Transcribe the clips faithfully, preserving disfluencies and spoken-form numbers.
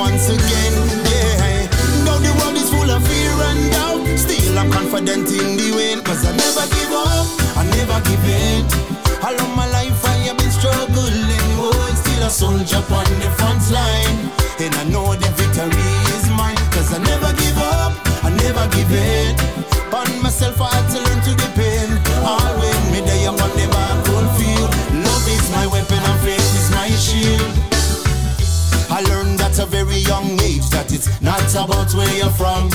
once again, yeah. Though the world is full of fear and doubt, still I'm confident in the win. Cause I never give up, I never give in. All of my life I have been struggling, oh, still a soldier on the front line. And I know the victory is mine. Cause I never give up, I never give in. On myself I had to learn to depend. All with me there on the battlefield. Love is my weapon and faith is my shield. I learned at a very young age that it's not about where you're from.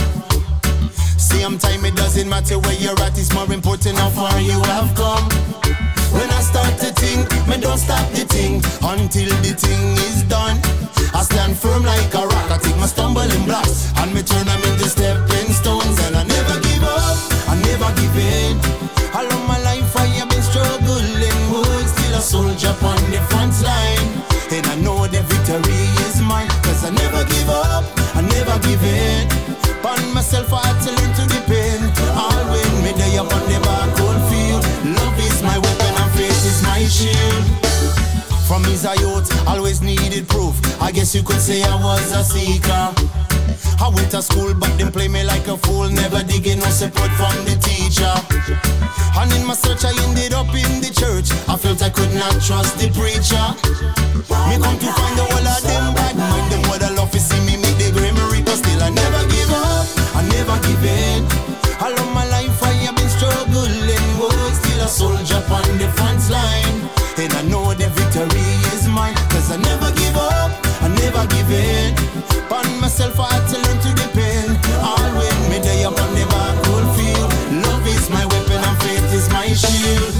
Same time it doesn't matter where you're at, it's more important how far you have come. When I start to think, me don't stop the thing until the thing is done. I stand firm like a rock, I take my stumbling blocks and me turn them into stepping stones. And I never give up, I never give in. All of my life I have been struggling, oh, still a soldier on the front line. And I know the victory is mine. Cause I never give up, I never give in. On myself I had to learn to depend. All with me there upon the battlefield. Love is my weapon and faith is my shield. From his youth, always needed proof. I guess you could say I was a seeker. I went to school but them play me like a fool. Never digging no support from the teacher. And in my search I ended up in the church. I felt I could not trust the preacher. Me come to find the whole of them bad mind. Them would love to see me make the grammar. But still I never give up, I never give in. All of my life I have been struggling, oh, still a soldier on the front line. And I know the victory is mine. Cause I never give up, I never give in. On myself I had to learn to depend. All with me there upon the battlefield. Love is my weapon and faith is my shield.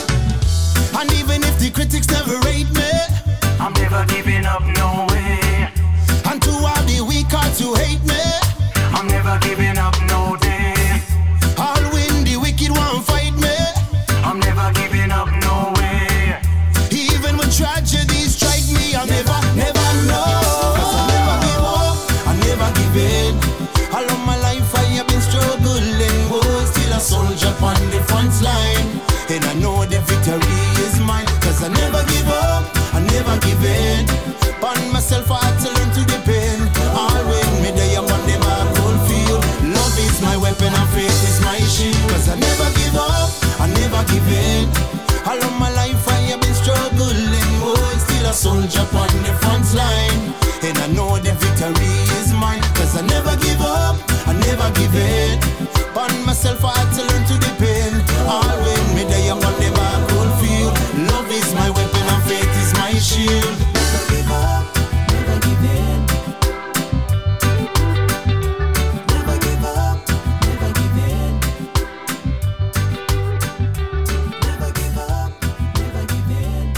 And even if the critics never rate me, I'm never giving up, no way. And to all the weak hearts who hate me, I'm never giving up, no day. All when the wicked won't fight me, I'm never giving up, no way. Even when tragedies strike me, I'll never, never know. Cause I never give up, I never give in. All of my life I have been struggling, oh, still a soldier on the front line. And I know the victory is mine. Cause I never give up, I never give in. On myself I had to learn to depend. All with me there upon the battlefield. Love is my weapon and faith is my shield. Cause I never give up, I never give in. All of my life I have been struggling, oh, still a soldier on the front line. And I know the victory is mine. Cause I never give up, I never give in. On myself I had to learn to depend. All with me there upon the battlefield. Love is my weapon and faith is my shield. Never give up, never give in. Never give up, never give in. Never give up, never give in.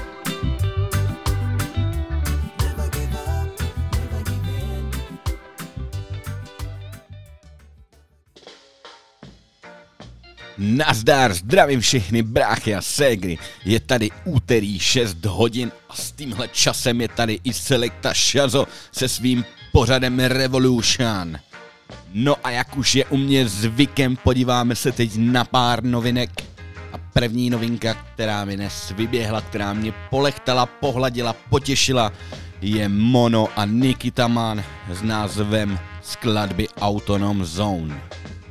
Never give up, never give in. Nazdar, zdravím všechny bráchy a ségry. Je tady úterý šest hodin a s tímhle časem je tady i Selecta Shazo se svým pořadem Revolution. No a jak už je u mě zvykem, podíváme se teď na pár novinek. A první novinka, která mi dnes vyběhla, která mě polechtala, pohladila, potěšila, je Mono a Nikita Man s názvem skladby Autonom Zone.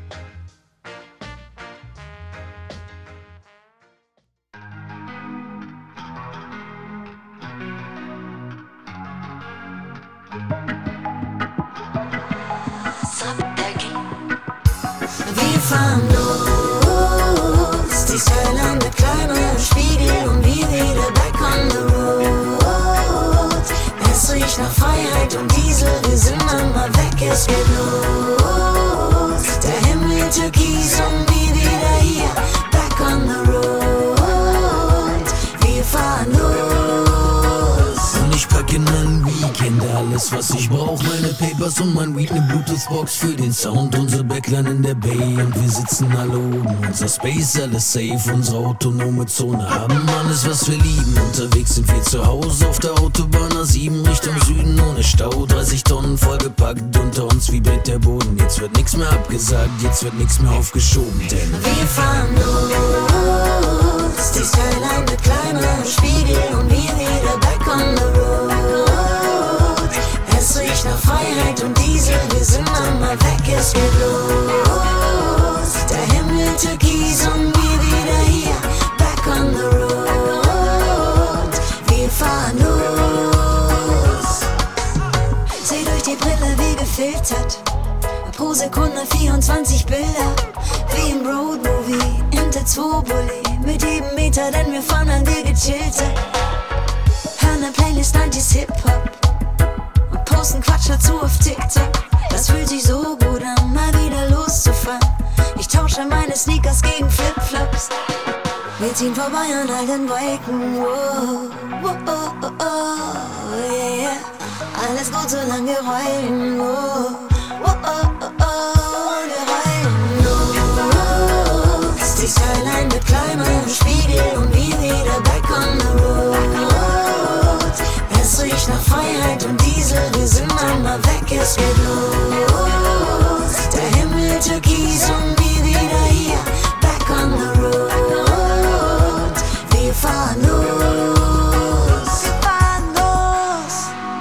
Wir fahren los, die Skyline mit kleinem Spiegel und wir wieder back on the road. Es riecht nach Freiheit und Diesel, wir sind einmal weg, es geht los. Der Himmel türkis und wir wieder hier, back on the road. Wir fahren los. Und ich packe in mein Weekend alles, was ich brauch. Meine Papers und mein Weed, ne Bluetooth-Box für den Sound. Unsere Backline in der Bay und wir sitzen alle oben. Unser Space, alles safe, unsere autonome Zone. Haben alles, was wir lieben. Unterwegs sind wir zu Hause auf der Autobahn A sieben Richtung Süden ohne Stau. dreißig Tonnen vollgepackt, unter uns vibriert der Boden. Jetzt wird nix mehr abgesagt, jetzt wird nix mehr aufgeschoben. Denn wir fahren los, die Skyline mit kleinem Spiegel und wir wieder back on the road. Es riecht nach es geht los. Der Himmel türkis und wir wieder hier, back on the road. Wir fahren los. Seh durch die Brille wie gefiltert, pro Sekunde vierundzwanzig Bilder, wie im Roadmovie, Inter zwei Bulli, mit jedem Meter, denn wir fahren an dir gechillter. Hören ne Playlist neunziger Hip-Hop und posten Quatsch dazu auf TikTok. Das fühlt sich so gut an, mal wieder loszufahren. Ich tausche meine Sneakers gegen Flipflops. Wir ziehen vorbei an all den Wolken, wow, wow, oh, oh, oh, yeah, yeah. Alles gut, solange wir rollen, wow, wow, oh, oh, oh, wir rollen los. Die Skyline wird kleiner im Spiegel und wir wieder back on the road. Es riecht nach Freiheit und Diesel, wir sind einmal weg, es geht los. Der Himmel türkis und wir wieder hier, back on the road. Wir fahren los, wir fahren los.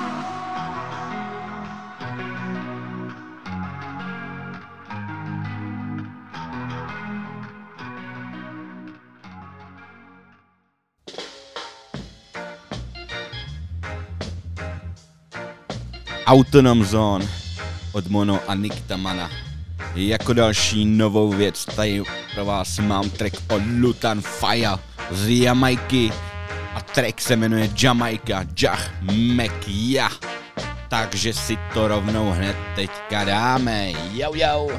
Autonom Zone od Mono a Niktamana. Jako další novou věc tady pro vás mám track od Lutan Fire z Jamajky a track se jmenuje Jamaica Jah Mekia. Takže si to rovnou hned teďka dáme. Jau jau.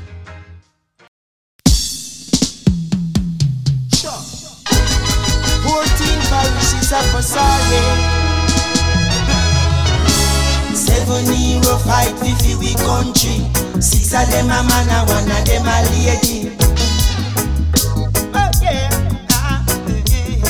fourteen parishes of Versailles. Seven hero fight fifty we country. Six of them a man and one of them a lady. Oh yeah, ah, yeah.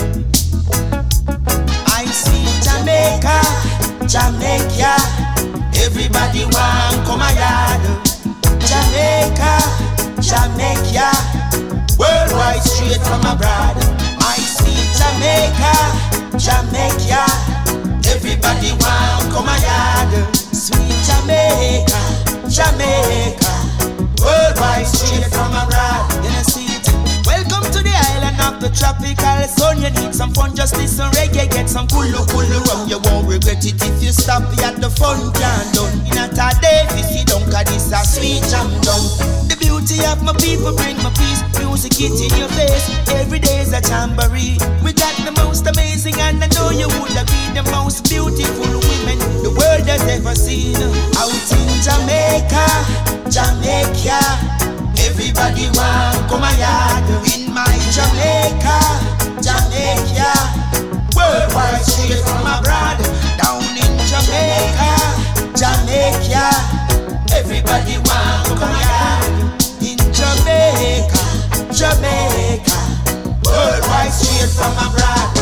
I see Jamaica, Jamaica. Everybody want come a yard. Jamaica, Jamaica. Worldwide straight from abroad. I see Jamaica, Jamaica. Everybody want come a yard. Sweet Jamaica, Jamaica. Worldwide straight from abroad. You know see it. Welcome to the island of the tropical sun. You need some fun, just listen reggae. Get some kulu kulu rum. You won't regret it if you stop at the fun can done. In a day, if you don't, cause this a sweet jam done. The beauty of my people bring my peace. Music it in your face. Every day is a jamboree. We got the most amazing, and I know you would agree, the most beautiful women the world has ever seen. Out in Jamaica, Jamaica. Everybody want come a yard. In my Jamaica, Jamaica. Worldwide straight from abroad. Down in Jamaica, Jamaica. Everybody want come a yard. In Jamaica, Jamaica. Worldwide straight from abroad.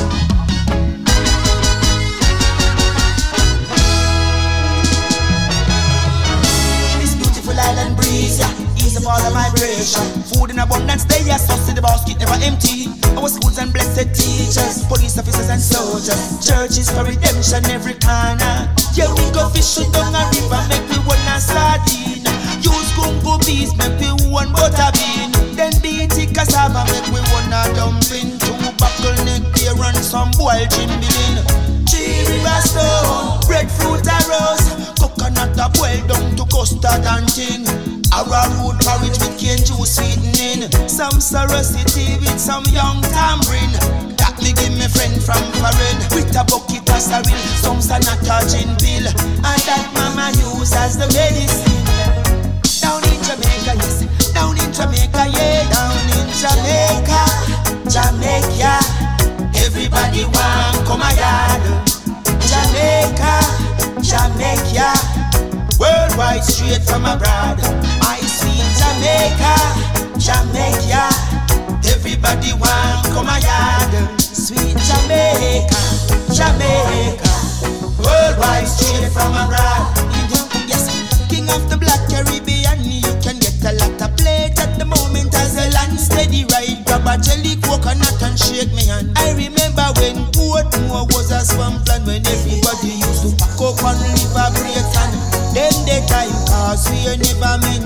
This beautiful island breeze, yeah, ease of all of migration. Food in abundance, they are so see the basket never empty. Our schools and blessed teachers, police officers and soldiers, churches for redemption every corner. Yeah, we go fishing down a river, make we one a sardine. Use gungo bees, make we one butter bean. Then beat it cassava, make we one a dumpling. Two buckle neck beer and some boiled chimbilin. Three river stone, breadfruit a rose. Coconut a boiled down to custard and tin. Arrowroot porridge with cane juice sweetening. Some sorosity with some young tamarind. That me give me friend from foreign. With a bucket of sarin, some sanata gin pill. And that mama use as the medicine. Down in Jamaica, yes. Down in Jamaica, yeah. Down in Jamaica, Jamaica. Everybody want come a yard. Jamaica, Jamaica. Worldwide straight from abroad. I see Jamaica, Jamaica. Everybody want come a yard. Sweet Jamaica, Jamaica. Worldwide straight from abroad. Yes, King of the Black Caribbean. You can get a lot of plate at the moment as a land steady ride. Grab a jelly coconut and shake me hand. I remember when Portmore was a swamp land, when everybody used to pack up and live a break and them the time cause we never meant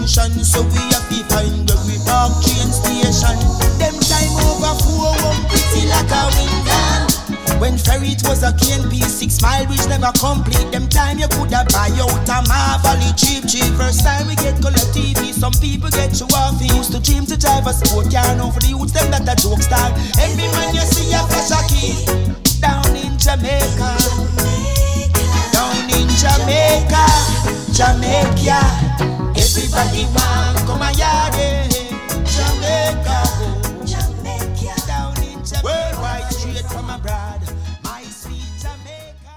attention, so we have to find where we park train station. Them time over four one pretty like a window. When ferry it was a K N P six mile bridge never complete. Them time you coulda buy out a Marvally cheap cheap. First time we get color T V, some people get you off. He used to dream to drive a sport car, now for the youths them that a joke star. Every man you see a flash a key down in Jamaica, down in Jamaica, Jamaica. Everybody want come a yard, Jamaica, Jamaica, down in Jamaica. Worldwide straight from abroad, my sweet Jamaica.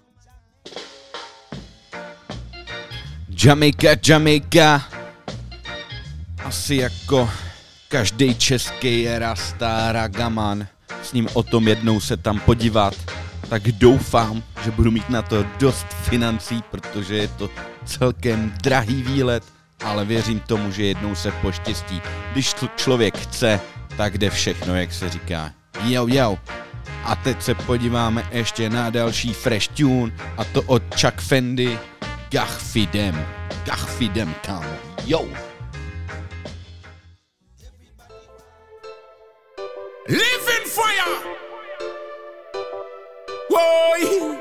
Jamaica, Jamaica. Asi jako každý český rasta ragaman. S ním o tom jednou se tam podívat. Tak doufám, že budu mít na to dost financí, protože je to celkem drahý výlet, ale věřím tomu, že jednou se poštěstí. Když člověk chce, tak jde všechno, jak se říká. Jo, jo. A teď se podíváme ještě na další fresh tune, a to od Chuck Fendi, Gachfidem. Gachfidem, kámo. Jo. Live in fire. Whoa.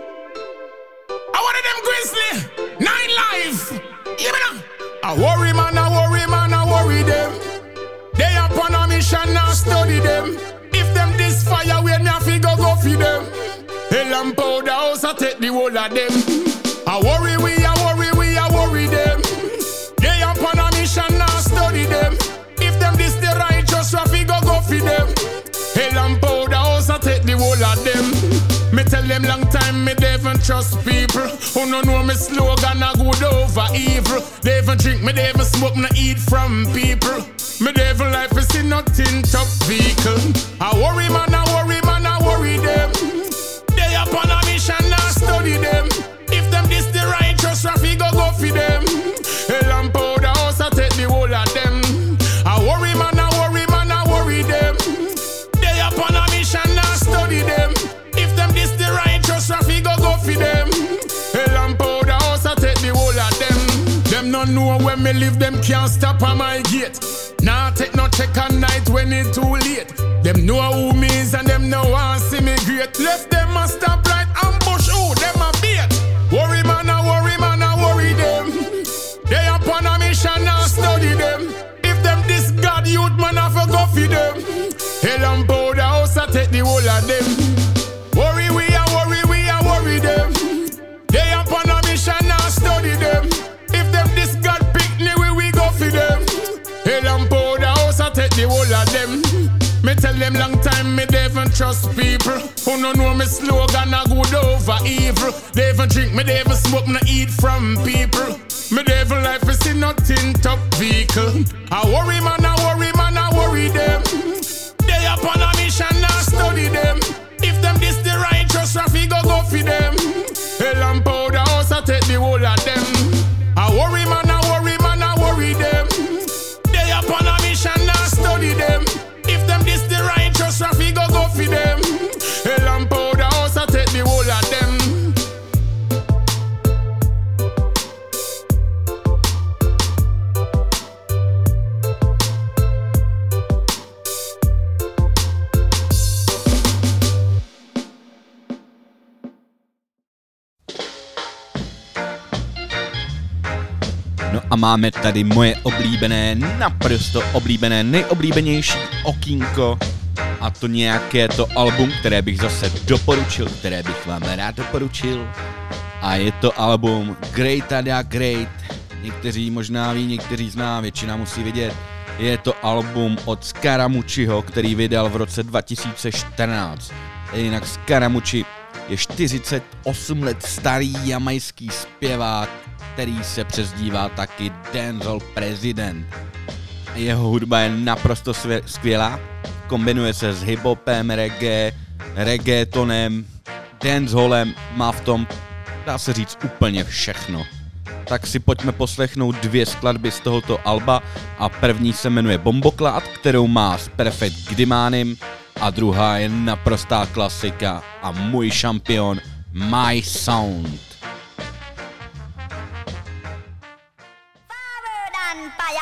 I wanted them grizzly. Nine life. You know. I worry man, I worry man, I worry them. They up on a mission, I study them. If them this fire, we me have to go go feed them. Hell and powder house, I take the whole of them. I worry we, I worry we, I worry them. They up on a mission, I study them. If them this the righteous, I have to go go feed them. Hell and powder house, I take the whole of them. Me tell them long time, me they even trust people. Who no know me slogan, I good over evil. They even drink, me they even smoke, me eat from people. Me they even life is in nothing top vehicle. I worry man, I worry man, I worry them. They up on a mission, I study them. If them this the righteous, Rafi go go for them. Hell and powder house, I take the whole of them. I worry man, I worry man, I worry them. They up on a mission, I study them. If them this the righteous, Rafi go go for them. Hell and powder house, I take the whole of them. Them no know when me live, them can't stop on my gate. Nah, take no check on night when it too late. Them know who me is and them know want see me great. Left them a stop right ambush, oh, them a bait. Worry man, I worry man, I worry them. They up on a mission, I study them. If them this God youth man, I for go for them. Hell and powder house, I take the whole of them. Worry we, I worry we, I worry them. They up on a mission, I study them. If them this God pick me, we, we go for them. Hell and powder house, I take the whole of them. Me tell them long time, me they even trust people. Who no know me slogan, I good over evil. They even drink, me they even smoke, me eat from people. Me they even life is in nothing top vehicle. I worry man, I worry man, I worry them. They up on a mission, I study them. If them this the righteous, Rafi go go for them. Hell and powder house, I take the whole of them. I worry man, I worry man, I worry them. They up on a mission, I study them. If them this the righteous, Rafi go go for them. Hell and powder house, I take the whole of them. No a máme tady moje oblíbené, naprosto oblíbené, nejoblíbenější okýnko. A to nějaké to album, které bych zase doporučil, které bych vám rád doporučil. A je to album Great Ada Great. Někteří možná ví, někteří zná, většina musí vědět. Je to album od Scaramucciho, který vydal v roce dva tisíce čtrnáct. Jinak Scaramucci je čtyřicet osm let starý jamajský zpěvák, který se přezdívá taky Dancehall President. Jeho hudba je naprosto skvělá, kombinuje se s hiphopem, reggae, reggaetonem, dancehallem, má v tom, dá se říct, úplně všechno. Tak si pojďme poslechnout dvě skladby z tohoto alba a první se jmenuje Bomboklat, kterou má s Perfect Gdimánem a druhá je naprostá klasika a můj šampion My Sound. Fire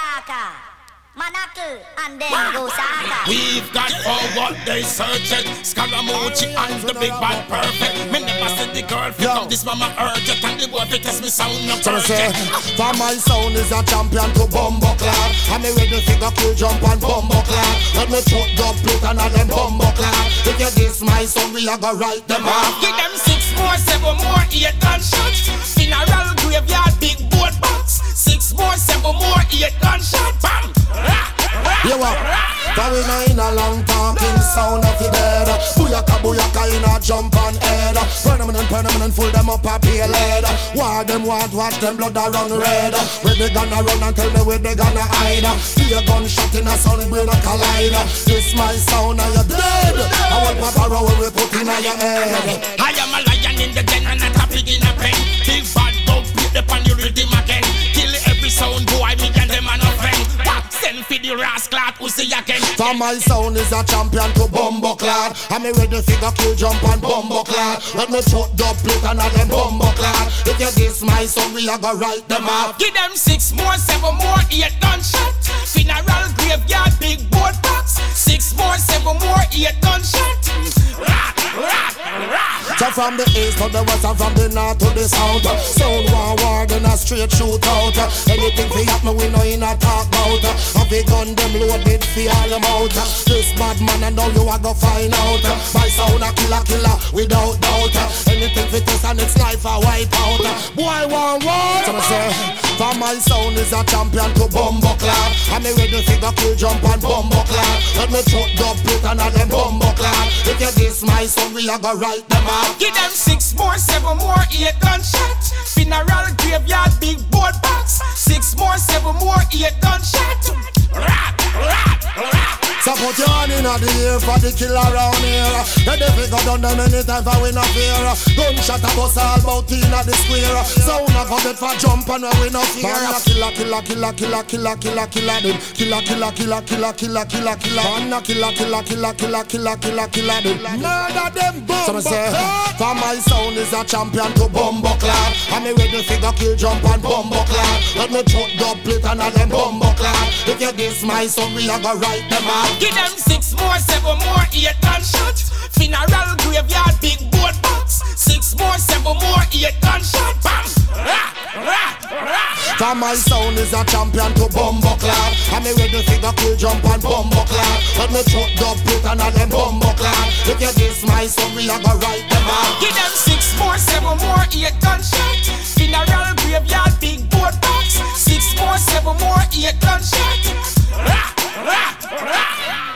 what they searching. Scaramucci and the big bad perfect. Me never said the girl fit up this mama urgent. And the boy fit test me sound no perfect. For my sound is a champion to bumbo clad. And me ready figure kill jump and bumbo clad. Let me put the plate and all them bumbo clad. If you diss my sound, we a go write them off. Give them six more, seven more, eight gunshots. Funeral graveyard, big boat box. Six more, seven more, eight gunshots. Bam! Rah! You what? Cause we know in a long talking sound of the dead. Booyaka, booyaka in a jump on head. Permanent, permanent, full them up a pale head. War them want, watch them blood a run red. Where they gonna run and tell me where they gonna hide. See a gunshot in a sound, we no collide. This my sound and you're dead. I want my power when we put in your head. I am a lion in the den and not a pig in a pen. Big bad dog, put the pan you rhythm again. Kill every sound boy, me and them are no friend. Send for the rascal who see again. For my sound is a champion to bumbo clad. I'm ready figure kill jump and bumbo clad. Let me put the plate and all them bumbo clad. If you diss my sound, we a go write them off. Give them six more, seven more, eight gunshot. Funeral graveyard, big boat box. Six more, seven more, eight gunshot. Rah, rah, rah. So from the east to the west and from the north to the south, sound war war then a straight shootout. Anything fi happen we know in a talk about. Have a gun them loaded fi all them out. This bad man and now you a go find out. My sound a killer killer without doubt. Anything fi test and its life a wipe out. Boy one war. So I say, for my sound is a champion to bumbo clad. I'm ready fi go kill jump and bumbo clad. Let me put the plate and all them bumbo clad. If you diss my sound we a go write them out. Give them six more, seven more, eight gunshots. Funeral graveyard, big boat box. Six more, seven more, eight gunshots. Rah, rah, rah. So put your hand in the air for the killer around here. The devil go down them anytime for we no fear. Gunshot a bust all about in the square. Sound a go dead for jump and we no fear. Killer, killer, killer, killer, killer, killer, killer them. Killer, killer, killer, killer, killer, killer, killer. Killer, killer, killer, killer, killer, killer, killer, killer them. Murder them, boom. So me say, for my sound is a champion to bumbo clad. I'm ready to go kill jump and bumbo clad. Let me put the plate and all them bumbo clad. If you diss my sound, we a go write them out. Give them six more, seven more, eight gunshot. Funeral graveyard, big boat box. Six more, seven more, eight gunshot. Bam! Rah! Rah! Rah! For my sound is a champion to bumbo clad. I'm ready to go kill jump and bumbo clad. Let me put the plate and all them bumbo clad. If you diss my sound, we a go write them out. Give them six more, seven more, eight gunshot. Funeral graveyard, big boat box. Six more, seven more, eight gunshot. Rah! Rah! Rah!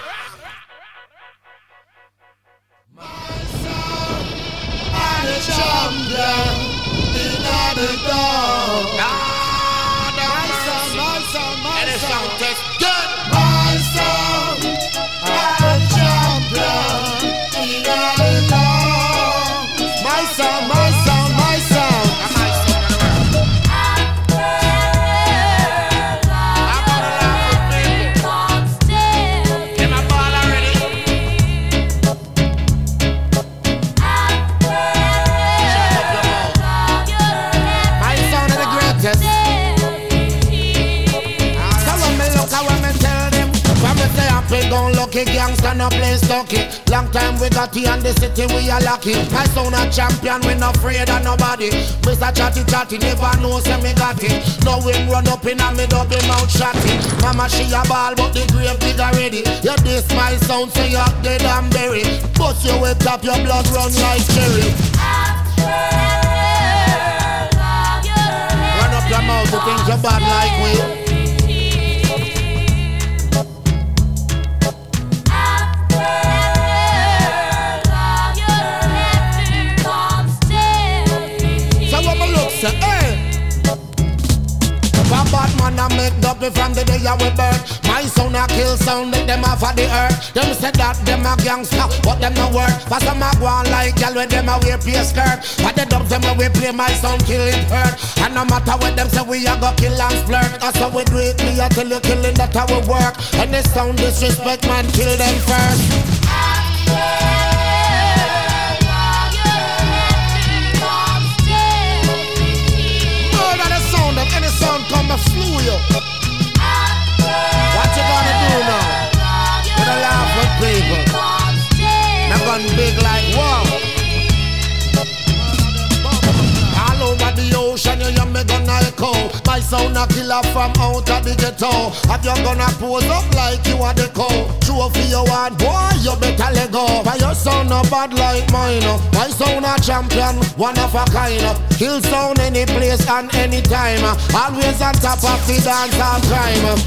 Champion in the dog. Ah, my sound, my sound, my sound. Good. My sound, I'm a champion in the dog. My sound, my sound, my sound. My sound in the world. I'm gonna laugh with people. Get my ball already. We gon' lucky gangsta no play stucky. Long time we got here in the city we are lucky. My son a champion, we not afraid of nobody. Mister Chatty Chatty never know say me got it. No wind run up in a me double mouth shotty. Mama she a ball but the grave digger ready. You diss my sound say you dead and buried. Bust your way top your blood run like cherry. Run up your mouth you think you bad like we. Say, hey. For bad man I make double from the day I was birth. My son a kill sound, let them off of the earth. Them say that them a gangster, but them no work. For some a go on like y'all when them a wear play skirt. But the dubs them when we play my sound kill it hurt. And no matter what them say we a go kill and flirt. That's how we do it, me a tell you killing that how we work. And the sound disrespect man kill them first. Any sound come and flew you. What you gonna do now? Gonna laugh with people. cow. My sound a killer from out of the ghetto. Have you gonna pose up like you are the cow? True for your one, boy, you better let go. But your sound no bad like mine. My sound a champion, one of a kind. Kill sound any place and any time. Always on top of the dance and crime.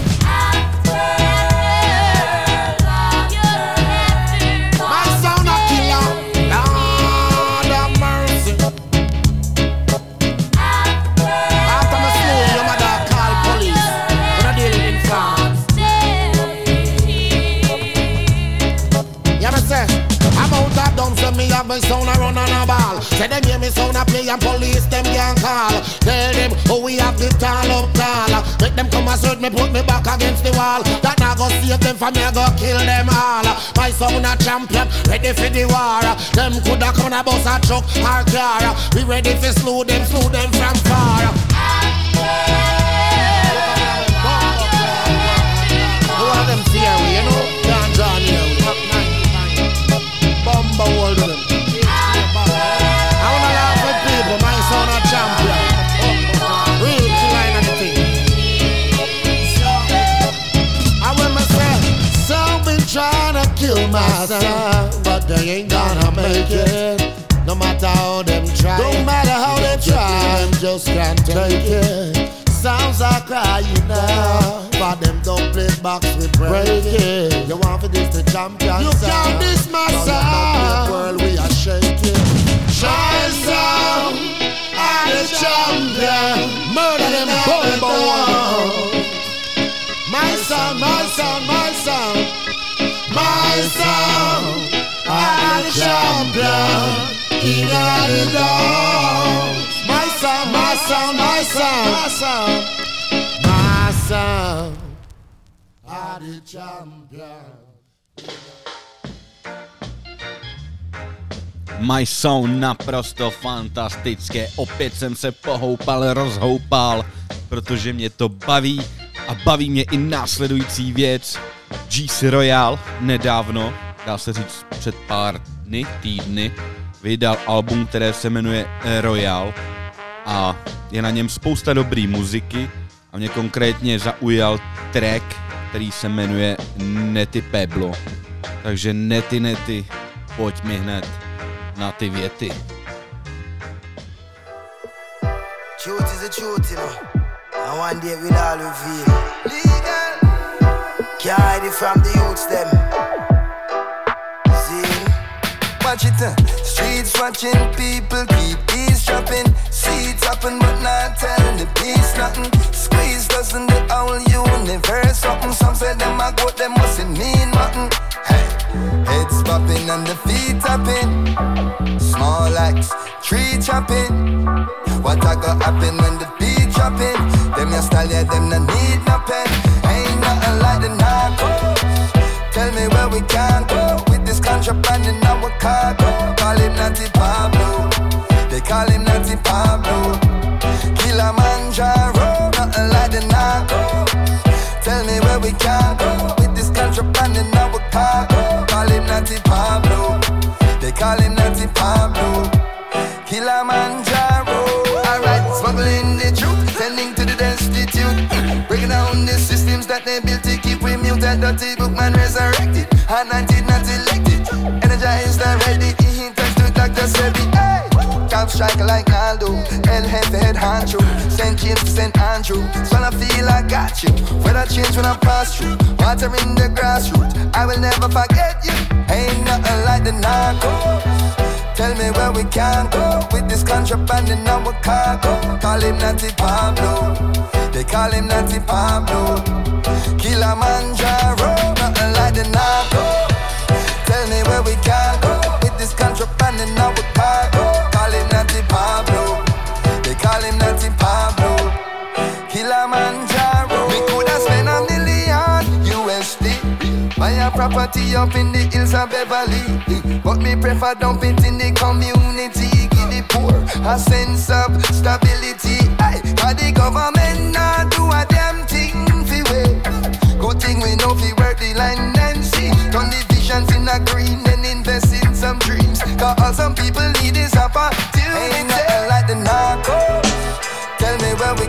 My sound a killer. Lord have mercy. After my slow, your mother call police. When I deal with farms. Yeah, me say, I'm out of dumb, so me have my sound a run on a ball. Say them hear me sound a play and police them can't call. Tell them how we have the tall up tall. Make them come and search me, put me back against the wall. That now go save them from me, I go kill them all. My sound a champion, ready for the war. Them coulda come a bus a truck or car. We ready for slew them, slew them from far. Who are them fear we, you know? Can't draw near we. Bumba hold them. I wanna laugh with people, my son a champion. Real line of the thing. I when me say, some been trying to kill myself, but they ain't gonna make it. No matter how them try, no matter how they try, them just can't take it. Sounds are crying now, but them don't play box with break it. You want for this the champion? You can't diss my sound. World we are shaking. My sound, I'm the champion. Murder them bumbo. My sound, my sound, my sound, my sound, I'm the champion. In the dog. My sound, my sound, my sound, my sound, my sound, I'm the champion. My sound naprosto fantastické. Opět jsem se pohoupal, rozhoupal, protože mě to baví a baví mě i následující věc. G C Royale nedávno, dá se říct před pár dny, týdny, vydal album, které se jmenuje Royale a je na něm spousta dobrý muziky a mě konkrétně zaujal track, který se jmenuje Nety Peblo. Takže nety nety, pojď mi hned na ty věty. Truth is a truth, you know. And one day we'll all reveal. Legal. Can't hide it from the youths, them. See? Watch it, uh. Streets watching, people keep eavesdropping. See it happen, but not telling the peace nothing. Squeeze doesn't the whole universe something. Some say them a goat, them mustn't mean nothing. Hey, heads popping and the feet tapping. Small axe, tree chopping. What a go happen when the beat dropping? Them your style, yeah, them no need no pen. Ain't nothing like the narcos. Tell me where we can go with this contraband in our cargo. Call him Natty Pablo. They call him Natty Pablo. Kilimanjaro, nothing like the narcos. Tell me where we can go with this contraband in our cargo. Call him Natty Pablo. They call him Natty Pablo. Kilimanjaro. Alright, smuggling the truth, tending to the destitute. Breaking down the systems that they built to keep we muted. Dirty bookman resurrected, anointed, not elected. Energized and ready, he thanks to Doctor Sebi. Hey! Camp striker like Naldo, El Jefe head honcho. Saint James to Saint Andrew, so I feel I got you. Weather change when I pass through, water in the grassroots. I will never forget you, ain't nothing like the narcos. Tell me where we can go with this contraband in our cargo. Call him Natty Pablo. They call him Natty Pablo. Kilimanjaro, nothing like the narco. Tell me where we can go with this contraband in our cargo. Call him Natty Pablo. They call him Natty Pablo. Kilimanjaro. We coulda spent a million U S D. Buy a property up in the hills of Beverly, but me prefer dump it in the community. Give the poor a sense of stability. Aye, cause the government not do a damn thing fi way. Good thing we know fi work the land and see. Turn the visions in a green and invest in some dreams. Cause all some people need is opportunity. Ain't nothing like the narcos. Tell me where we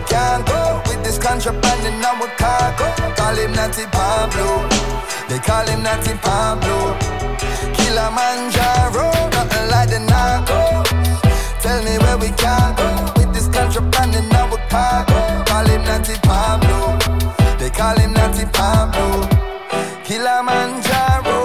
contraband in our cargo. Call him Natty Pablo. They call him Natty Pablo. Kilimanjaro, nothing like the narco. Tell me where we can go with this contraband in our cargo. Call him Natty Pablo. They call him Natty Pablo. Kilimanjaro.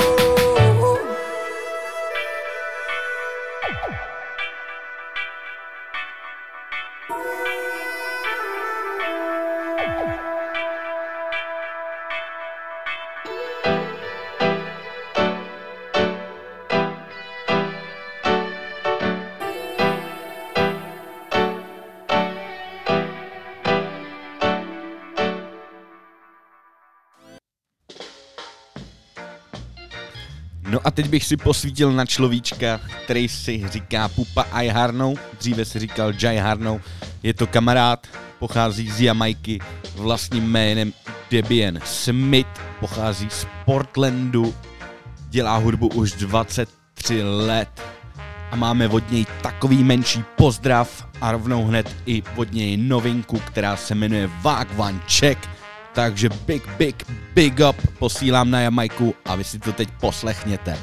No a teď bych si posvítil na človíčka, který si říká Pupa I Harnou, dříve si říkal Jai Harnou. Je to kamarád, pochází z Jamajky, vlastním jménem Debian Smith, pochází z Portlandu, dělá hudbu už dvacet tři let a máme od něj takový menší pozdrav a rovnou hned i od něj novinku, která se jmenuje Wagwan Check. Takže big, big, big up posílám na Jamajku a vy si to teď poslechněte.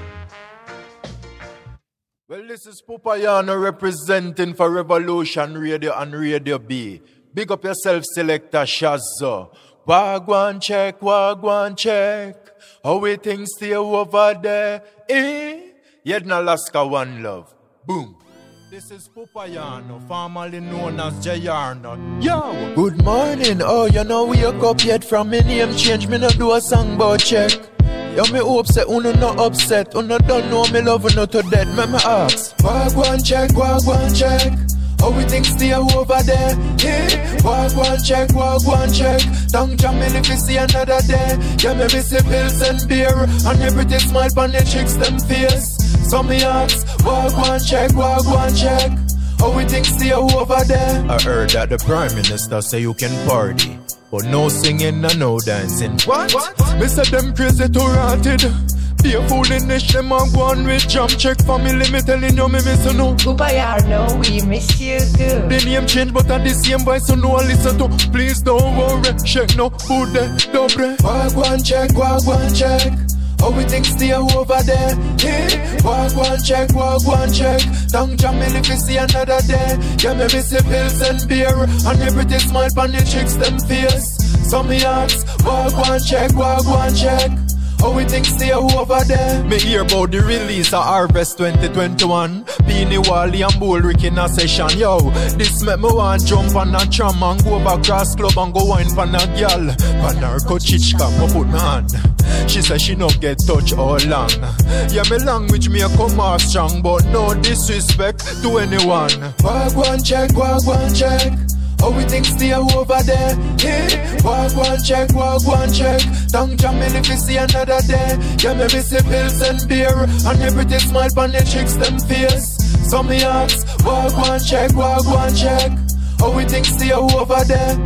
Well, this is Pupayano representing for Revolution Radio and Radio B. Big up yourself, Selector Shazzo. Wagwan check, wagwan check. How we things stay over there, eh? Jedna Alaska, one love. Boom. This is Pupayano, formerly known as Jayarno. Yo! Good morning, oh, you know we wake up yet from me name change, me no do a song but check. Yo, me hope say uno no upset, uno don't know me love uno to dead, me me ask. Wagwan check, wagwan check. How we think stay over there, yeah. Wagwan check, wagwan check. Tongue jam me if you see another day. Yeah, me miss the pills and beer, and every day smile on the chicks them face. So me ask, wagwan check, wagwan check. How we think stay over there? I heard that the Prime Minister say you can party, but no singing and no dancing. What? what? Me say them crazy too rotted. Be a fool in this, them a go on with jump check family, me telling you me miss you know. Pupayano, we miss you too. The name change but at the same voice, so no one listen to. Please don't worry, shake no bude, dobre. Wagwan check, wagwan check. How we think stay over there, yeah. Wagwan check, wagwan check. Tongue jam me if you see another day. Yeah, me miss the pills and beer, and every day smile on the chicks them face. So me ask, wagwan check, wagwan check. How we think stay over there? Me hear about the release of Harvest twenty twenty-one. Beanie Wally and Bullrick in a session. Yo, this make me want jump on a tram and go back cross club and go wine pan a gyal. Pan her kochichka, me put my hand. She say she no get touch all long. Yeah, me language me a come off strong, but no disrespect to anyone. Wagwan check, wagwan check. How we think stay over there, yeah. Wagwan check, wagwan check. Tongue jam me if you see another day. Yeah, me miss the pills and beer, and every day smile on the chicks them face. So me ask, wagwan check, wagwan check. How we think stay over there?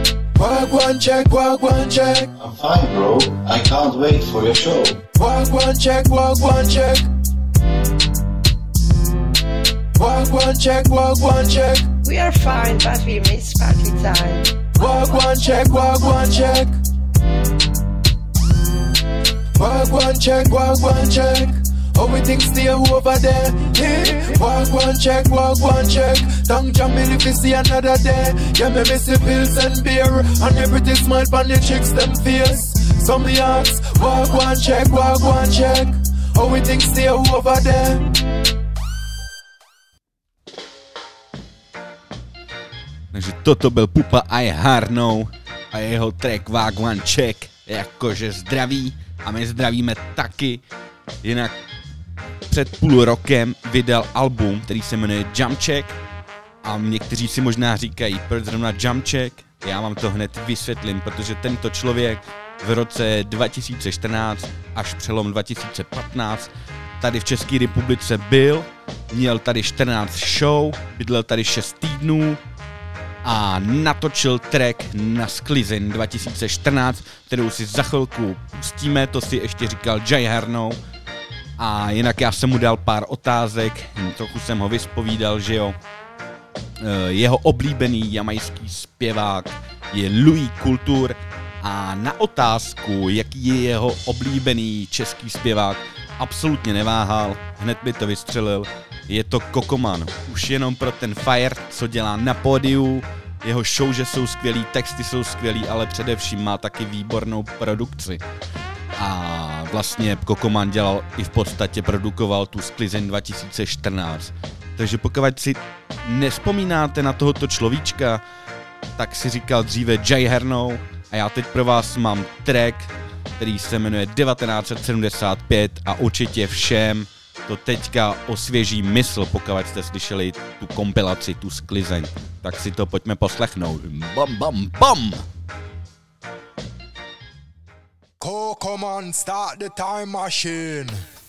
Wagwan check, wagwan check. I'm fine, bro. I can't wait for your show. Wagwan check, wagwan check. Wagwan check, wagwan check. We are fine, but we miss party time. Wagwan check, wagwan check. Wagwan check, wagwan check. How we think stay over there, yeah. Wagwan check, wagwan check. Tongue jam me if you see another day. Yeah, me miss the pills and beer, and every day smile on the chicks them face. So me ask, wagwan check, wagwan check. How we think stay over there? Takže toto byl Pupa I Harnou a jeho track Wagwan Check, jakože zdraví a my zdravíme taky. Jinak před půl rokem vydal album, který se jmenuje Jump Check a někteří si možná říkají, proč zrovna Jump Check? Já vám to hned vysvětlím, protože tento člověk v roce dva tisíce čtrnáct až přelom dva tisíce patnáct tady v České republice byl, měl tady čtrnáct show, bydlel tady šest týdnů a natočil track na Sklizeň dva tisíce čtrnáct, kterou si za chvilku pustíme, to si ještě říkal Jai Harnou. A jinak já jsem mu dal pár otázek, trochu jsem ho vyspovídal, že jo, jeho oblíbený jamajský zpěvák je Louis Kultur a na otázku, jaký je jeho oblíbený český zpěvák, absolutně neváhal, hned by to vystřelil. Je to Kokoman. Už jenom pro ten fire, co dělá na pódiu, jeho show, že jsou skvělý, texty jsou skvělý, ale především má taky výbornou produkci. A vlastně Kokoman dělal i v podstatě produkoval tu Sklizeň dva tisíce čtrnáct. Takže pokud si nespomínáte na tohoto človíčka, tak si říkal dříve Jay Hernou a já teď pro vás mám track, který se jmenuje devatenáct set sedmdesát pět a určitě všem to teďka osvěží mysl, pokud jste slyšeli tu kompilaci, tu Sklizeň. Tak si to pojďme poslechnout. Bam, bam, bam! Kokoman, start the time machine.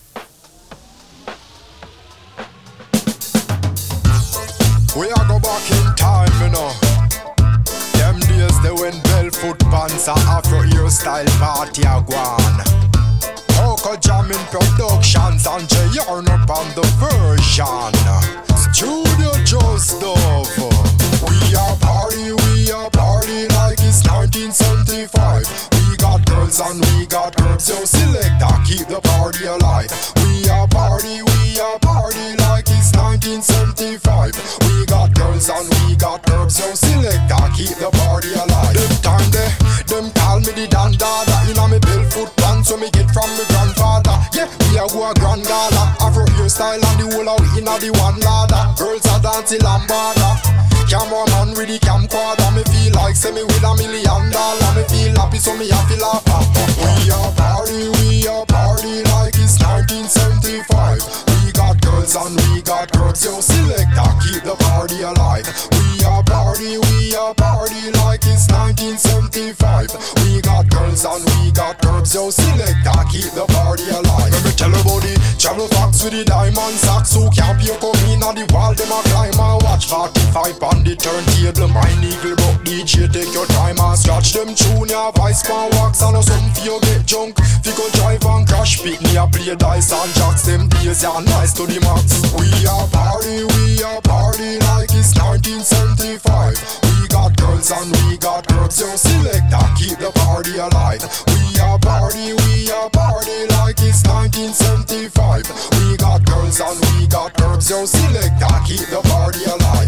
We are go back in time, you know. Them days they went barefoot pants and Afro hairstyle party a gone. Coco jamming productions and J R up on the version. Studio just over. We are party, we are party like it's nineteen seventy-five. We got girls and we got girls, so selector keep the party alive. We are party, we are party like it's nineteen seventy-five. We got girls and we got girls, so selector keep the party alive. Them time they, them call me the Dan Dada. Inna me barefoot pants, so me get from me grandfather. Yeah, we are go a grand gala. Afro hairstyle and the whole of we inna the one ladder. Girls are dancing lambada. Cameraman with the camcorder. Me feel like say me with a million dollar. Me feel happy so me have to laugh. We are party, we are party like it's nineteen seventy-five. We got girls and we got girls, so selector keep the party alive. We are party, we are party like it's nineteen seventy-five. We got girls and we got girls, so selector keep the party alive. Let me tell you about the travel fox with the diamond socks. Who can't pay come in on the wall, them a climb and watch forty-five on the turntable. My eagle buck D J, take your time and scratch them tune. Ya vice pan wax and some for you get junk. Fi go drive and crash, pick me a play dice and jacks. Them days ya nice to the max. We are party, we are party like it's nineteen seventy-five. We got girls and we got girls, so selector keep the party alive. We are party, we are party like it's nineteen seventy-five. We got girls and we got girls, so selector keep the party alive.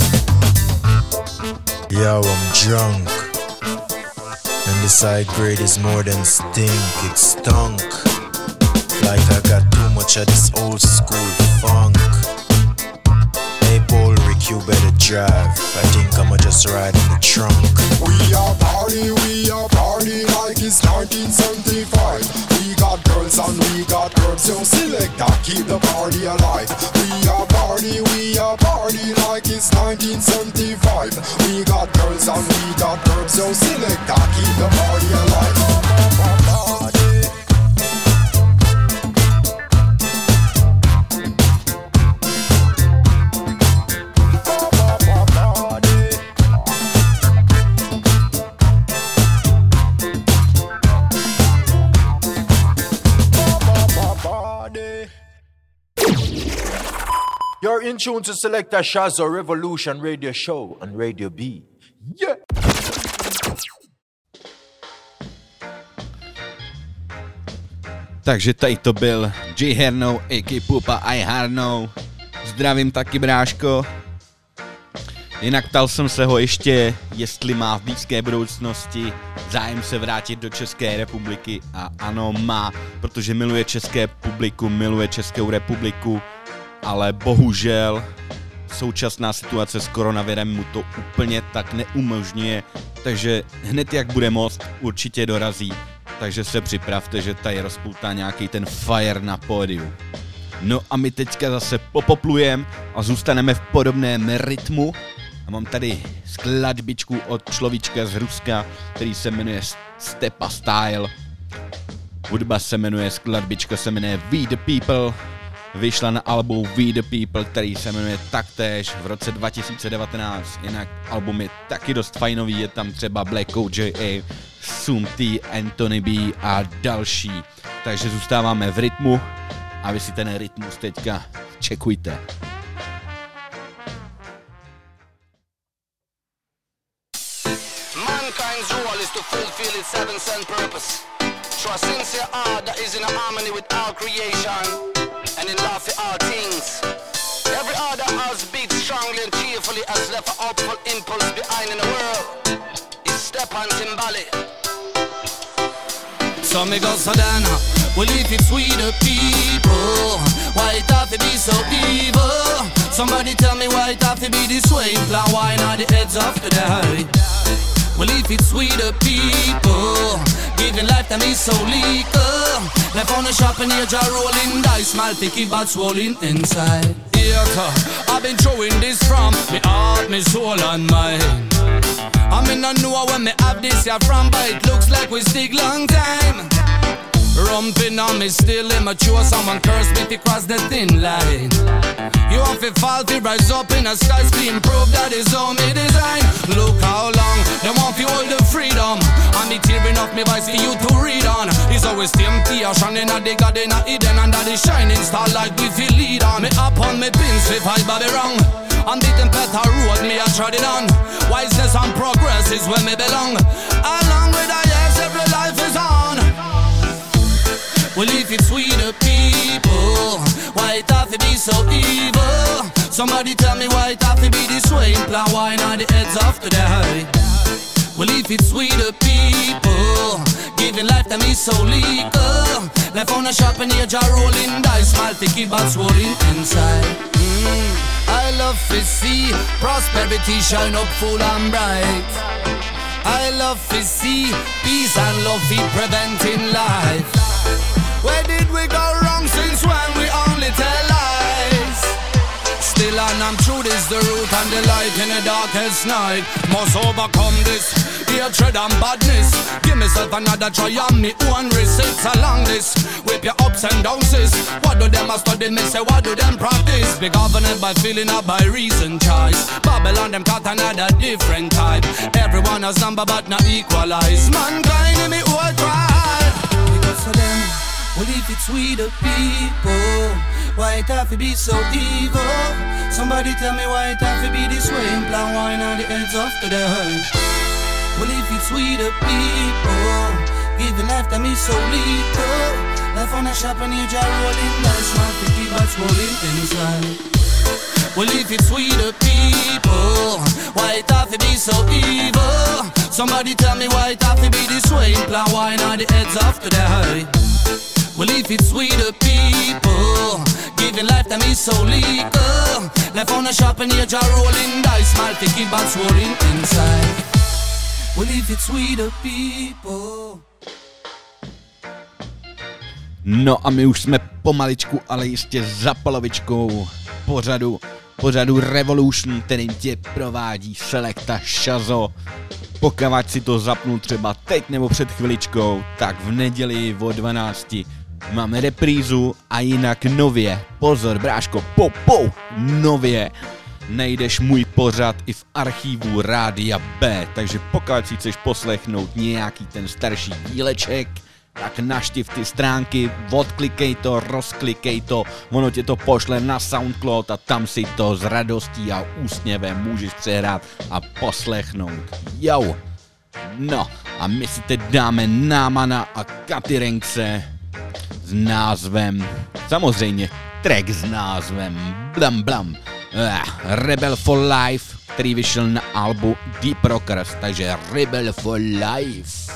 Yo, I'm drunk, and this high grade is more than stink, it stunk. Like I got too much of this old school funk. Hey Bullrick, you better drive, I think I'ma just ride in the trunk. We are party, we are party like it's nineteen seventy-five. We got girls and we got girls, so selector keep the party alive. We are party, we are party like it's nineteen seventy-five. We got girls and we got girls, so selector keep the party alive. You're in tune to Selector Shazzo Revolution Radio Show on Radio B. Yeah! Takže tady to byl J Hernou, a ká Pupa I Harnou. Zdravím taky, bráško. Jinak ptal jsem se ho ještě, jestli má v blízké budoucnosti zájem se vrátit do České republiky a ano, má, protože miluje české publikum, miluje Českou republiku, ale bohužel současná situace s koronavirem mu to úplně tak neumožňuje, takže hned jak bude moct, určitě dorazí, takže se připravte, že tady rozpoutá nějaký ten fire na pódiu. No a my teďka zase popoplujeme a zůstaneme v podobném rytmu. A mám tady skladbičku od človíčka z Ruska, který se jmenuje Stepa Style. Hudba se jmenuje, skladbička se jmenuje We The People. Vyšla na albu We The People, který se jmenuje taktéž v roce dva tisíce devatenáct. Jinak album je taky dost fajnový, je tam třeba Black O J A, Sum T, Anthony B a další. Takže zůstáváme v rytmu a vy si ten rytmus teďka čekujte. Mankind's is to fulfill its heavens and purpose. Through a sincere art that is in harmony with all creation and in love for all things. Every art that has beat strongly and cheerfully has left an hopeful impulse behind in the world. It's Step on Timbali. So me go so then, well if it's we the people, why it have to be so evil? Somebody tell me why it have to be this way. Plan wine on the heads of the day. Well if it's we the people, giving life to me so legal. Left on the shop and here jar rolling dice, smile picky but swollen inside. Yeah, I've been throwing this from me heart, me soul and mind. I mean I know when me have this here from, but it looks like we stick long time. Rumping on me still immature, someone curse me to cross the thin line. You have to fall to rise up in a sky screen, prove that is all me design. Look how long they want to hold the freedom, and me tearing off me voice for you to read on. It's always temptation in a dig in a hidden under the shining starlight we feel lead on. Me up on me pins if I bobby wrong. On the better road me I trod it on. Wiseness and progress is where me belong. Along with the years every life is on. Well if it's we the people, why it have to be so evil? Somebody tell me why it have to be this way. Plan wine on the heads of the day. Well if it's we the people, giving life to me so legal. Left on a shop and here jar rolling dice, smile picky but swollen inside. mm. I love to see prosperity shine up full and bright. I love to see peace and love be preventing life. Where did we go wrong since when we only tell lies? Still and I'm true, this the root and the light in the darkest night. Must overcome this hatred and badness. Give myself another try on me own receipts along this. Whip your ups and downs sis. What do them a study me say, what do them practice? Be governed by feeling or by reason choice. Babylon them got another different type. Everyone has number but not equalize. Mankind in me all try. Because of them, well if it's we the people, why it have to be so evil? Somebody tell me why it have to be this way. And plan wine on the heads of the day. Well if it's we the people, giving life to me so lethal. Life on a shop and you jar rolling dice, man picky but swollen inside. Well if it's we the people, why it have to be so evil? Somebody tell me why it have to be this way. And plan wine on the heads of the day. Well if it's we the people, giving life to me so legal. Left on a shop and here jar rolling dice, smile picky but swollen inside. Well if it's we the people. No a my už jsme pomaličku, ale jistě za polovičkou pořadu, pořadu Revolution, kterým tě provádí Selecta Shazo. Pokud si to zapnu třeba teď nebo před chviličkou, tak v neděli o dvanácti máme reprízu a jinak nově, pozor bráško, po, po, nově najdeš můj pořad i v archivu Rádia B, takže pokud si chceš poslechnout nějaký ten starší díleček, tak naštiv ty stránky, odklikej to, rozklikej to, ono tě to pošle na Soundcloud a tam si to s radostí a úsměvem můžeš přehrát a poslechnout. Jo! No a my si teď dáme Námana a Katy Renkse s názvem, samozřejmě track s názvem Blam Blam, uh, Rebel for Life, který vyšel na albu Deep Rockers, takže Rebel for Life.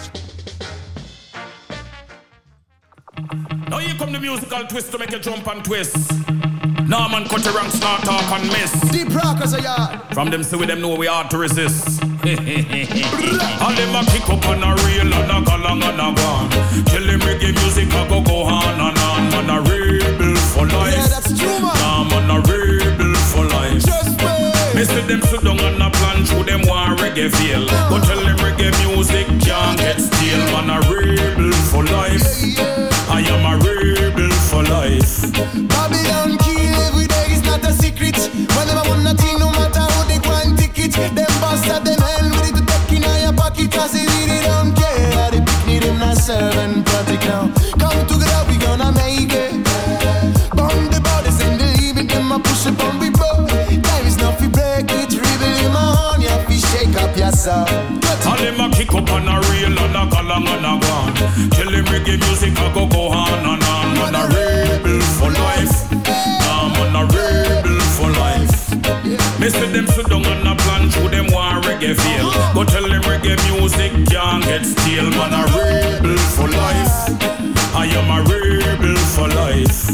Now here come the musical twist to make you jump and twist. Nah man cut your ranks, not talk and miss. Deep Rockers are yard. From them say we them know we hard to resist. All them a kick up on a reel and a go long and a gone. Tell them reggae music a go go on and on. Man a rebel for life. Yeah, that's true man. Nah man a rebel for life. Just wait. Me see them sit down and a plan through them war reggae feel. But tell them reggae music can't get stale. Man a rebel for life. Yeah, yeah. I am a rebel for life. Babylon kill every day is not a secret. Whenever one nothing, no matter how they go and ticket. Them bastard, them hell with it back in your pocket. Cause they really don't care. How they pick me, them not serving project now. Come together, we gonna make it. Burn the bodies and the limit, them a push up on we both. Time is not fi break it. Rebel in my horn, you have to shake up your yourself. Tell him a kick up on a reel and a galang and a gone. Tell him reggae music a go go on and on. Man a rebel for life. Nah, man a rebel for life. Me see them sit down on a plan through them want reggae feel. Go tell them reggae music can't get stale. Man a rebel for life. I am a rebel for life.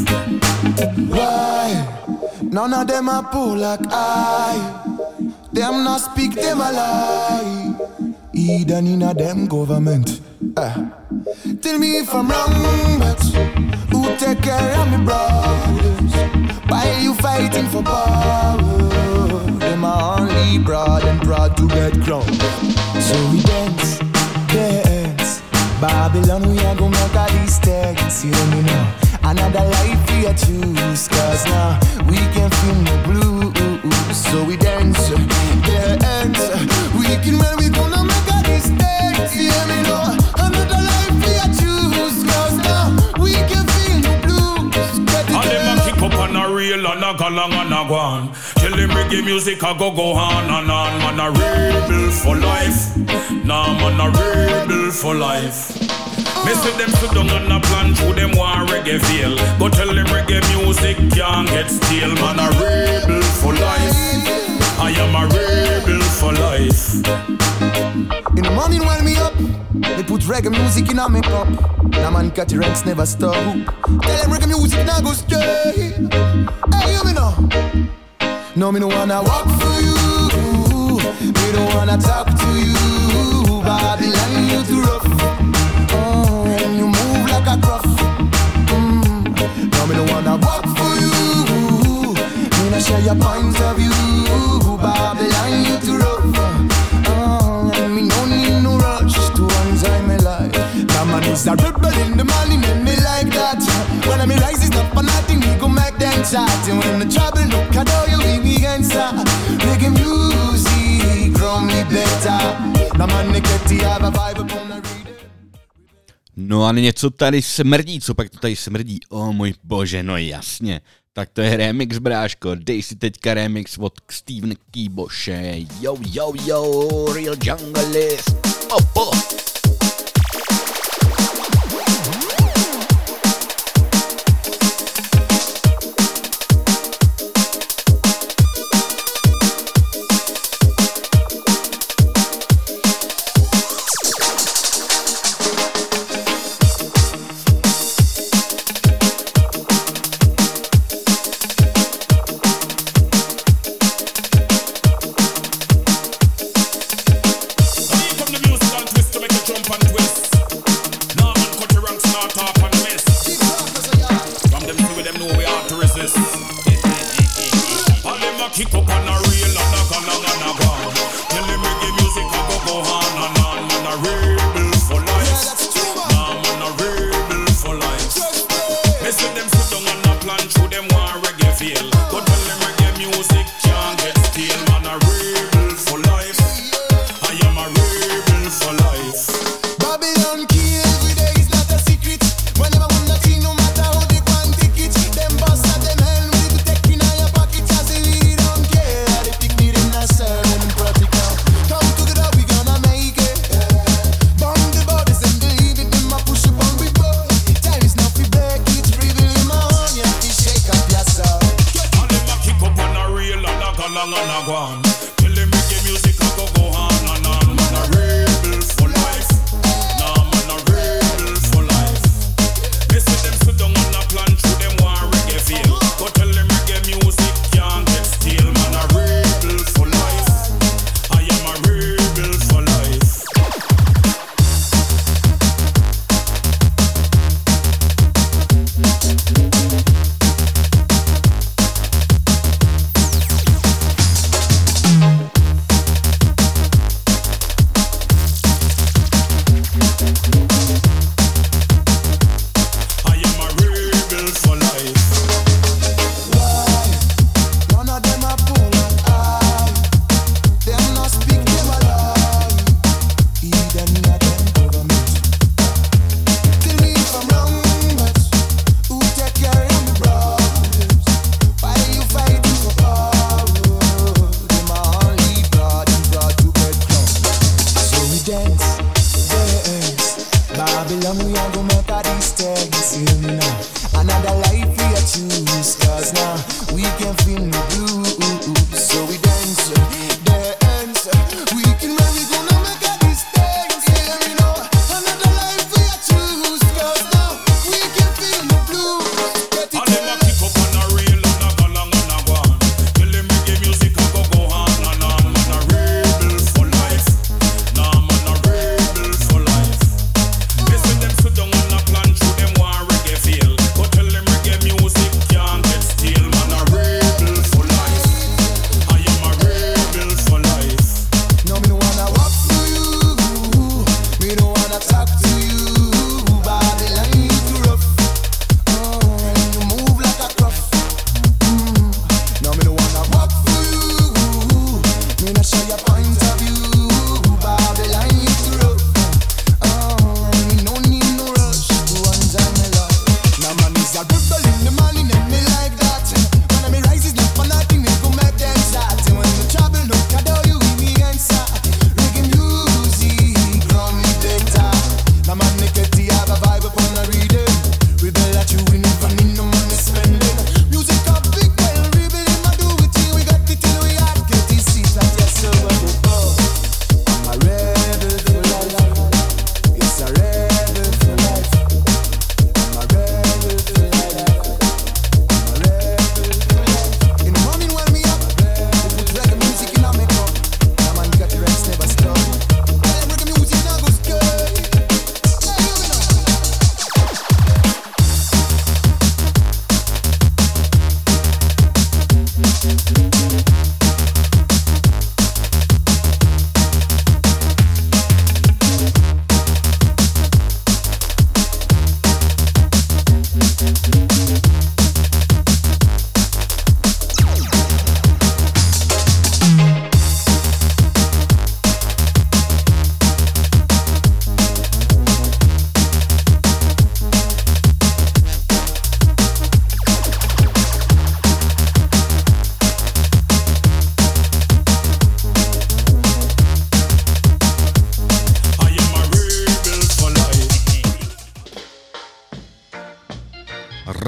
Why? None of them are poor like I. Them not speak, them a lie. Either in a them government. Uh. Tell me if I'm wrong, but who take care of me brothers? Why you fighting for power? Them are only broad and proud to get crowned. So we dance, dance. Babylon, we are gonna make all these things. You know me now. Another life we choose, cause now we can feel no blues. So we dance, dance. We can when we gonna make all these things. You hear me now? Another life we choose, cause now we can feel no blues. All them a kick up on a reel and a galang and a gone. Tell them reggae music a go go on and on. Man a rebel for life. Nah, man a rebel for life. Me see them sit down on a plan through them want reggae feel. Go tell them reggae music can't get stale. Man a rebel for life. I am a rebel for life. In the morning when me up, they put reggae music in a make up. Now man cut the ranks never stop. Tell them reggae music now go stray. Hey, you me know. No, me no wanna walk for you. Me don't wanna talk to you. Babylon, you too rough. You move like a gruff. Mm. Now me don't wanna walk for you. Me not share your point of view. Babylon, you too rough. Oh, and me no need no rush to enjoy my life. Now man is a rebel in the morning and me like that. When I me rise is up for nothing, we go make them chat. And when the trouble look at all you leave me answer. Reggae music from me better. Now man they get to have a vibe upon a No a něco tady smrdí, co pak to tady smrdí? O oh, můj bože, no jasně. Tak to je remix, bráško. Dej si teďka remix od Stevena Keyboše. Yo, yo, yo, Real Junglist. Opo. Kick up on a reel and a galang and a gone. Tell them reggae music a go go on and on. Man a rebel for life. Nah, man a rebel for life. Me see them sit down on a plan through them want reggae feel. Go tell them reggae music can't get stale. Man a rebel for life. I am a rebel for life. Babylon key every day is not a secret. Whenever one that no matter how they want take it. Them boss at them hell with the tech in your pocket as they really don't care. They pick me in a certain practical. Come together we gonna make it. Bomb the bodies and believe it. Them a push up on we boy. Time is not for back. It's rebel in my own. You have to shake up yourself. All them a kick up on a reel and a galang and a gone. Tell them reggae music a go go on and on. Man a rebel for life. Nah, man a rebel for life. Me see them sit down on a plan through them want reggae feel. Go tell them reggae music can't get stale. Man a rebel for life. I am a rebel for life.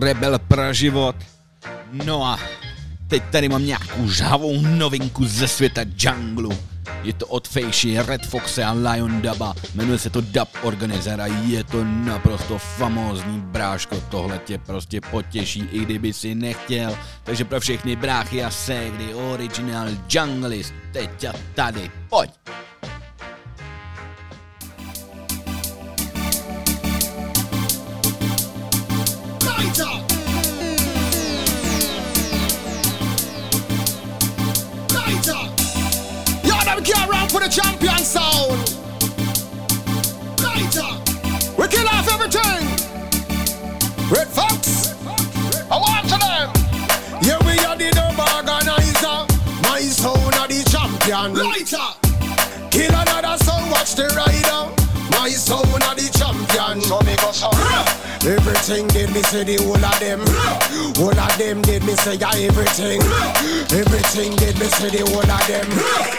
Rebel pro život. No a teď tady mám nějakou žhavou novinku ze světa junglu. Je to od Fejši, Red Foxe a Lion Dubba. Jmenuje se to Dub Organizer a je to naprosto famózní, bráško. Tohle tě prostě potěší, i kdyby si nechtěl. Takže pro všechny bráchy a ségry, original junglist, teď a tady, pojď! Lighter! Lighter! Them can't run for the champion sound. Lighter. We kill off everything. Red Fox. I want to them. Yeah, we are the dub organizer. My sound are the champion. Lighter. Kill another sound, watch the rider. My sound are the champion. So me go so. Everything did me say the whole of them. Whole of them did me say yeah, everything. Everything did me say the whole of them.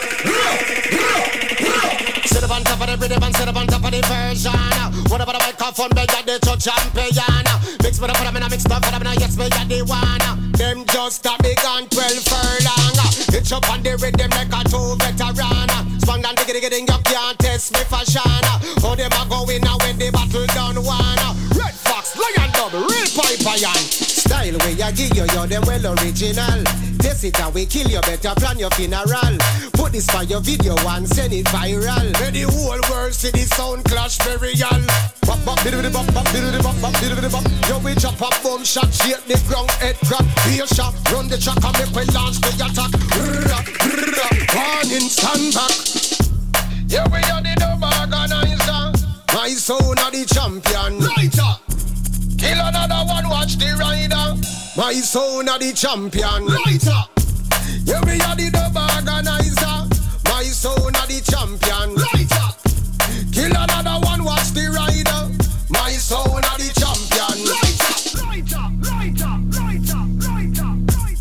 Sit up on top of the rhythm and sit up on top of the version. Whatever the microphone, they got the true champion. Mix with the put them in a mix up for them, yes, we got the one. Them just a big and twelve furlong. It's up on the rhythm like a two veteran. Spang and diggy diggy ding, you can't test me fashion. How them a going now when the battle done one. Red Fox, Lion Dub, real pipe iron. Style way I give you, you're them well original. Test it and we kill you, better plan your funeral. Put this for your video and send it viral. Let the whole world see the sound clash burial. Bop bop, biddy bop bop, biddy bop bop, biddy bop. Yo we chop up boom shot, shake the ground, head crack. Be a shot, run the track and make we launch the attack. Warning, stand back. Yeah we are the dub organizer. My sound are the champion. Lighter. Kill another one, watch the rider. My sound are the champion. Lighter. Yeah, we are the dub organizer. My sound are the champion. Lighter. Kill another one, watch the rider. My sound are the champion. Lighter. Lighter. Lighter. Lighter. Lighter.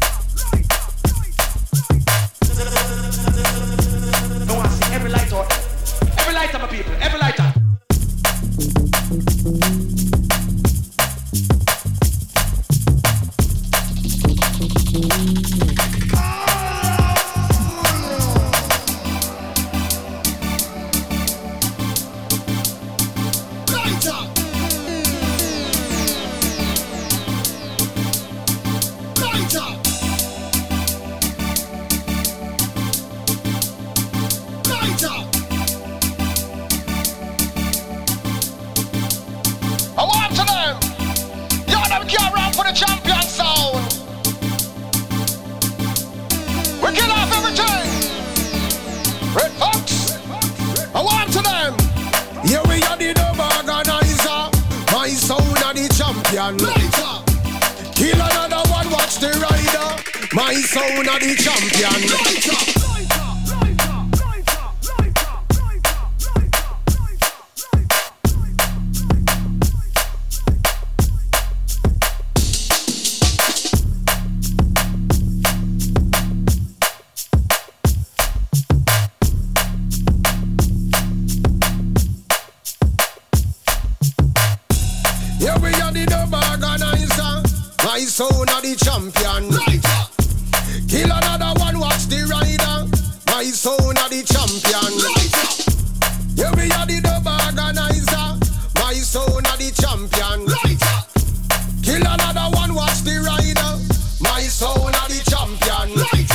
Lighter. I want to see every light out. Every lighter, my people. Every lighter. Champion sound. We kill off everything. Red Fox. I want to them. Here we are the dub organizer. My sound are the champion. Lighter. Kill another one, watch the rider. My sound are the champion. Lighter. My sound are the champion. Lighter. Kill another one, watch the rider. My sound are the champion. Lighter. Yeah, we are the dub organizer. My sound are the champion. Lighter. Kill another one, watch the rider. My sound are the champion. Lighter.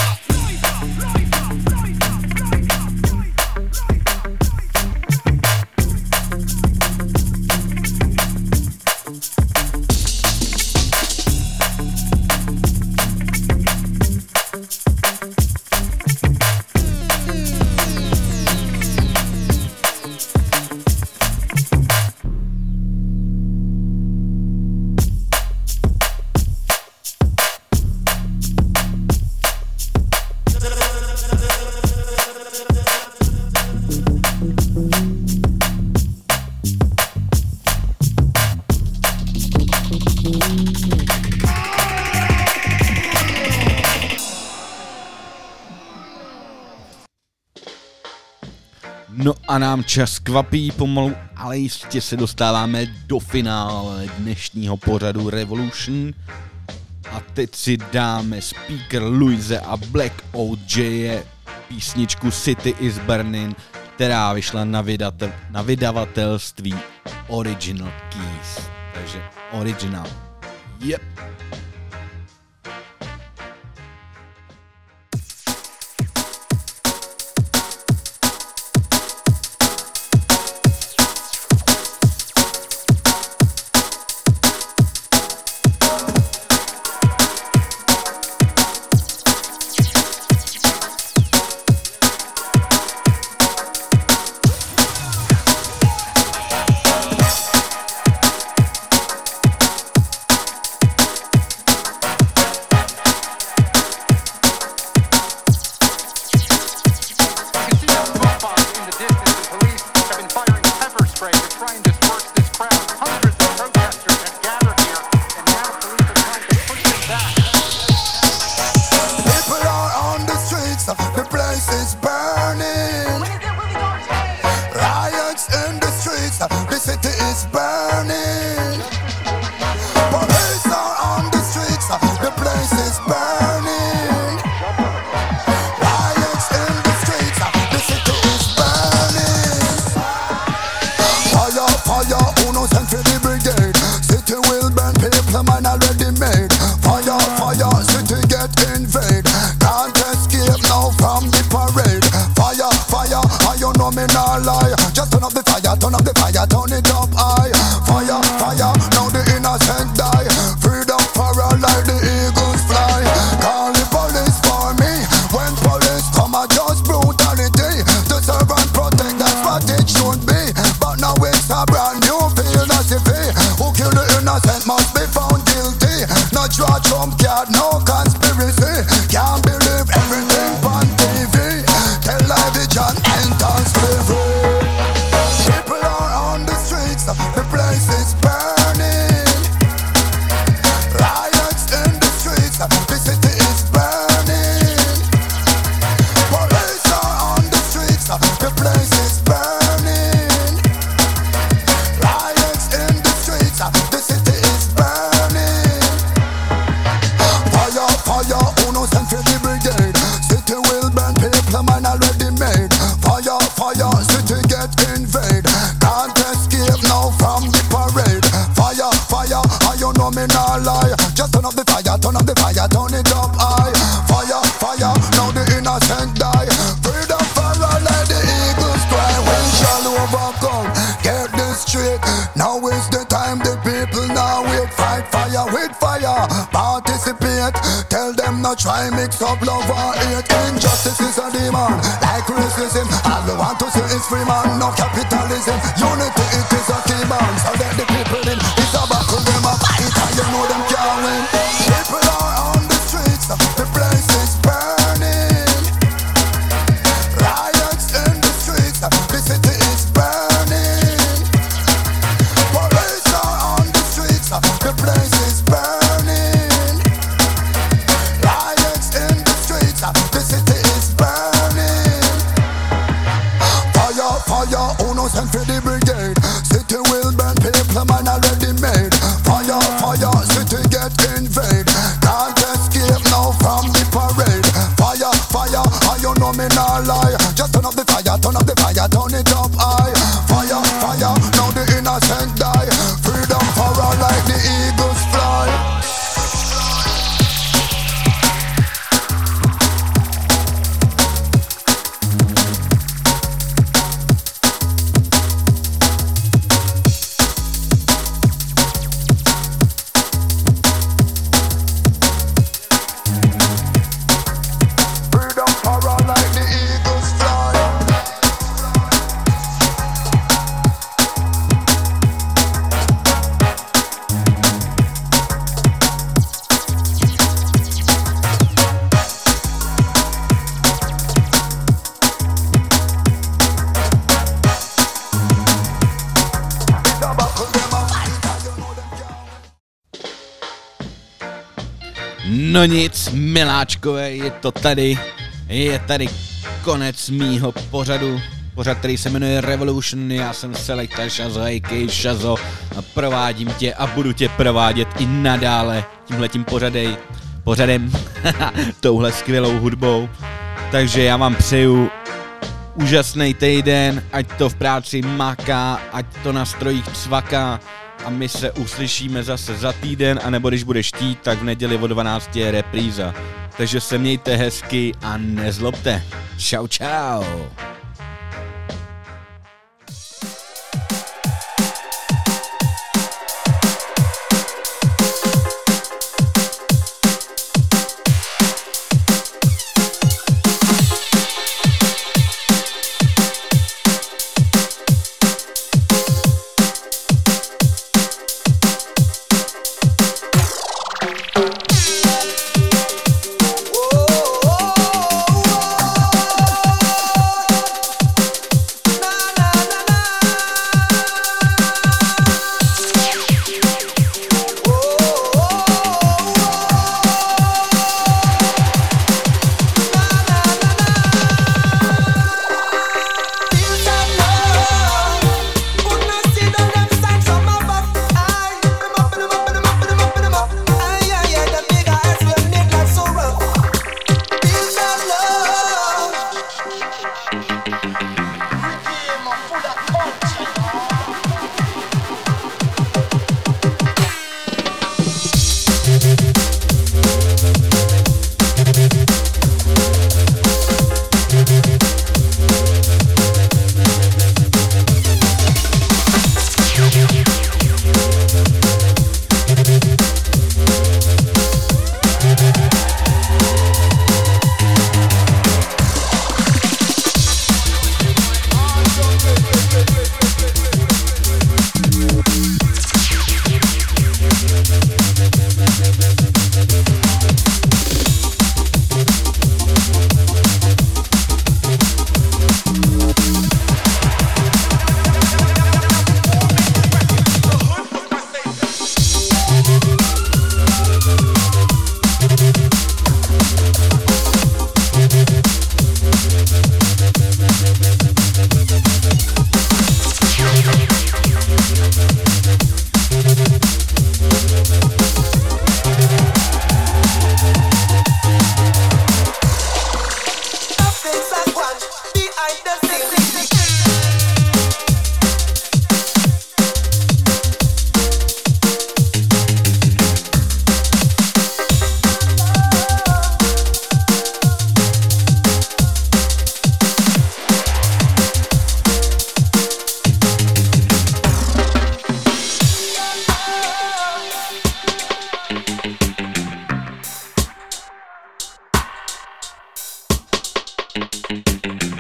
No a nám čas kvapí pomalu, ale jistě se dostáváme do finále dnešního pořadu Revolution. A teď si dáme Speaker Louise a Black O J písničku City is Burning, která vyšla na, vydatel, na vydavatelství Original Keys. Takže originál. Yep. Try mix up love and hate. Injustice is a demon, like racism. All we want to see is free man, no capitalism. Unity, it is a key man. So let the people in. It's a battle, them a fight, and you know them can't win. People are on the streets, the place is burning. Riots in the streets, the city is burning. Police are on the streets, the place is burning. The city is burning. Fire, fire, who knows send for the brigade. City will burn, people man already made. Fire, fire, city get invade. Can't escape now from the parade. Fire, fire, and you know me not lie. Just turn up the fire, turn up the fire, turn it up high. Fire, fire, now the innocent die. Freedom for all like the eagles fly. No nic, miláčkové, je to tady, je tady konec mýho pořadu pořad, který se jmenuje Revolution, já jsem Selecta Shazzo, a ká a. Shazzo, a provádím tě a budu tě provádět i nadále tímhletím pořadej, pořadem, touhle skvělou hudbou. Takže já vám přeju úžasný týden, ať to v práci maká, ať to na strojích cvaká a my se uslyšíme zase za týden, anebo když budeš chtít, tak v neděli o dvanácti je repríza. Takže se mějte hezky a nezlobte. Čau, čau. Thank you.